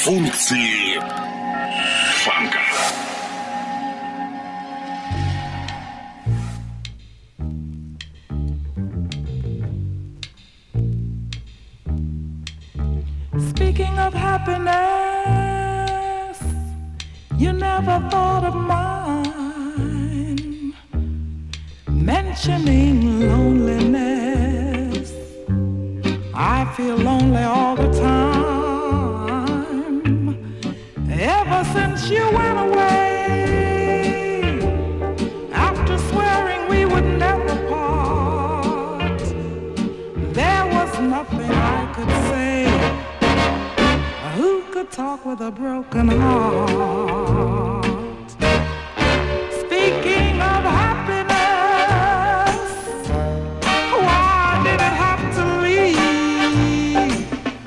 Функции фанка. Speaking of happiness, you never thought of mine. Mentioning loneliness, I feel lonely all the time. Ever since you went away, after swearing we would never part, there was nothing I could say. Who could talk with a broken heart? Speaking of happiness, why did it have to leave?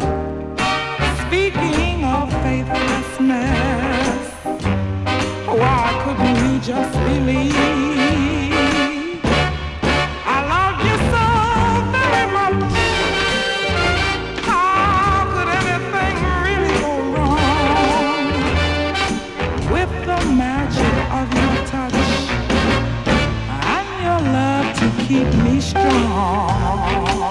Speaking of faithlessness, why couldn't we just believe? I love you so very much. How could anything really go wrong with the magic of your touch and your love to keep me strong?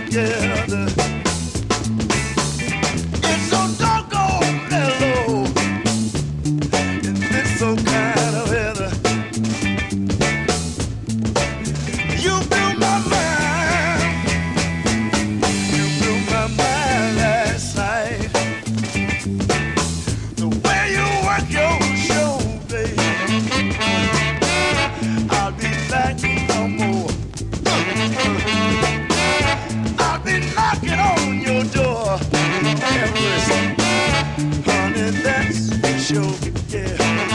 together. It's so doggone mellow in this so kind of weather. You blew my mind. You blew my mind last night. The way you work your show, baby. I'll be back no more. I'll be knocking on your door. Honey, that's for sure, yeah.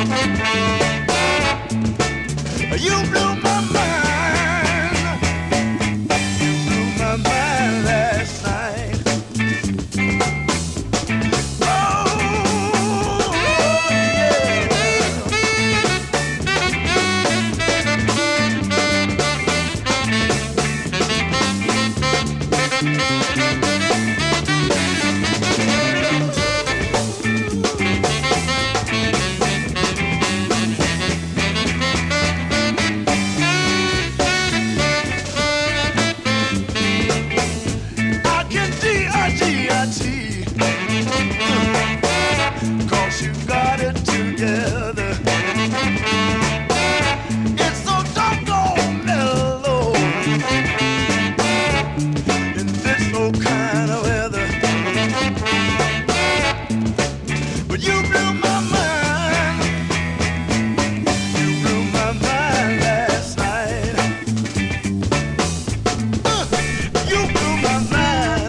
You blew my mind. You blew my mind last night. Oh, yeah. I can D-I-G-I-T, 'cause you got it together. It's so doggone mellow in this old kind of weather. But you blew my mind. You blew my mind last night. You blew my mind.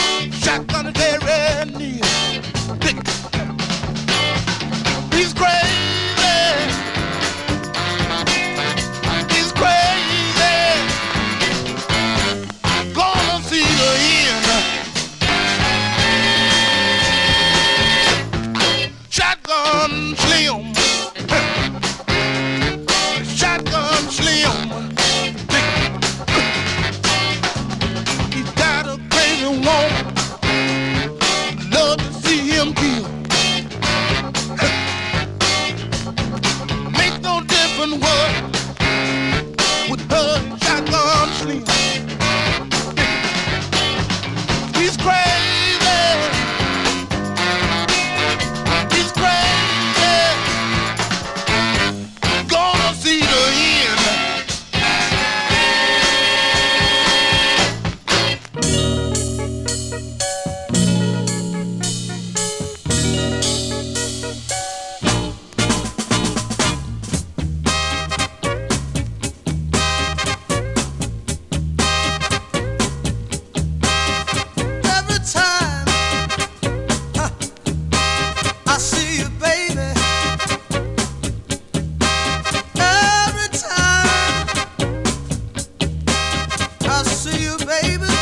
He's great. Shotgun Slim. Shotgun Slim. He got a crazy woman. Love to see him kill. Make no difference what with her Shotgun Slim. He's crazy. He's crazy. Gonna see the end. Every time I see you, baby. Every time I see you, baby.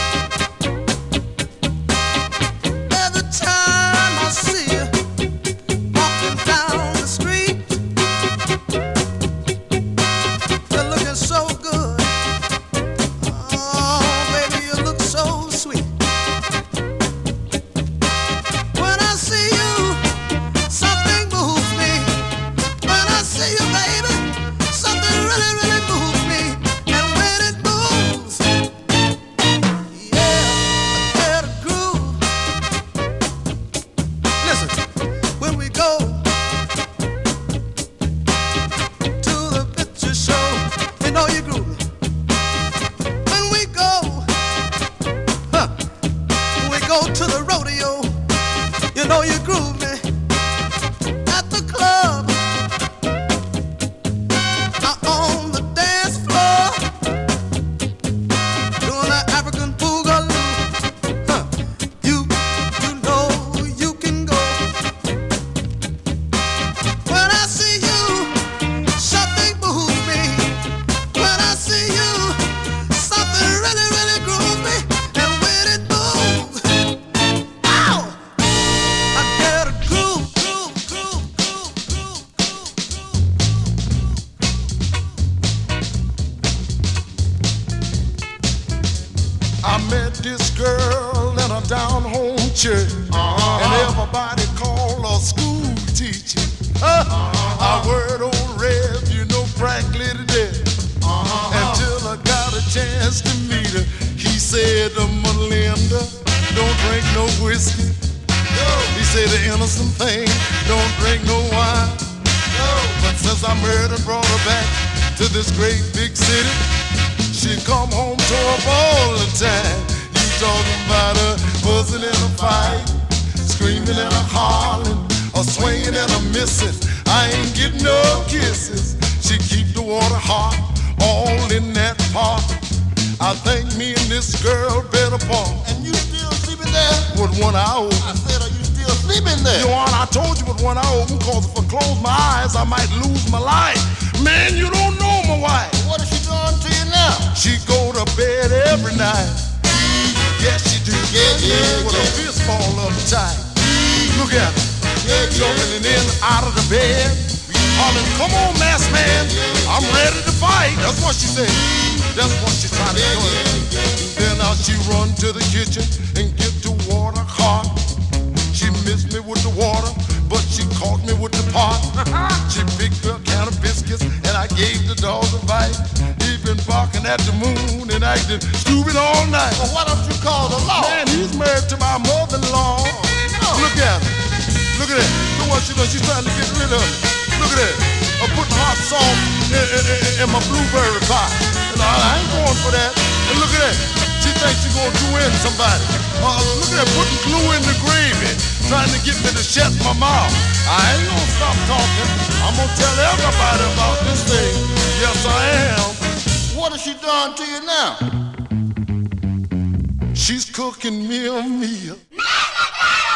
Every time I see you walking down the street, you're looking so good. Oh, baby, you look so sweet. When I see you, something moves me. When I see you, baby, something really, really moves me. And when it moves, yeah, I get a groove. Listen, when we go to the picture show, you know you groove me. When we go to the rodeo, you know you groove me. At the club, on the dance floor, doing the African boogaloo. You know you can go. When I see you, something moves me. When I see you, something really, really grooves me. And when it moves, ow! I get a groove. I met this girl in a down-home church, and everybody called her school teacher. I word old Rev, you know, practically to death. Until I got a chance to meet her, he said, Melinda, don't drink no whiskey. He said the innocent thing, don't drink no wine. But since I married and brought her back to this great big city, she come home to her all the time. You talking about her buzzing in a fight, screaming and a hollering, a swinging and a missing. I ain't getting no kisses. She keep the water hot, all in that pot. I think me and this girl better part. And you still sleeping there? With one eye open. I said, are you still sleeping there? Your Honor, I told you with one eye open, cause if I close my eyes, I might lose my life. Man, you don't know my wife. What is she doing to you now? She go to bed every night. Yes, she do. With a fist ball uptight. Look at her. Jumping in and out of the bed. Hollering, come on, masked man. I'm ready to fight. That's what she said. That's what she trying to do. Then now she run to the kitchen and get the water hot. She missed me with the water, but she caught me with the pot. She picked up a can of biscuits and I gave the dog a bite. He been barking at the moon and acting stupid all night. Well, why don't you call the law? Man, he's married to my mother-in-law. Look at her. Look at that. Look what she does. She's trying to get rid of it. Look at that. I'm putting hot sauce in my blueberry pie. And I ain't going for that. And look at that. She thinks she's going to do in somebody. Look at that. Putting glue in the gravy. Trying to get me to shut my mouth. I ain't going to stop talking. I'm going to tell everybody about this thing. Yes, I am. What has she done to you now? She's cooking me a meal.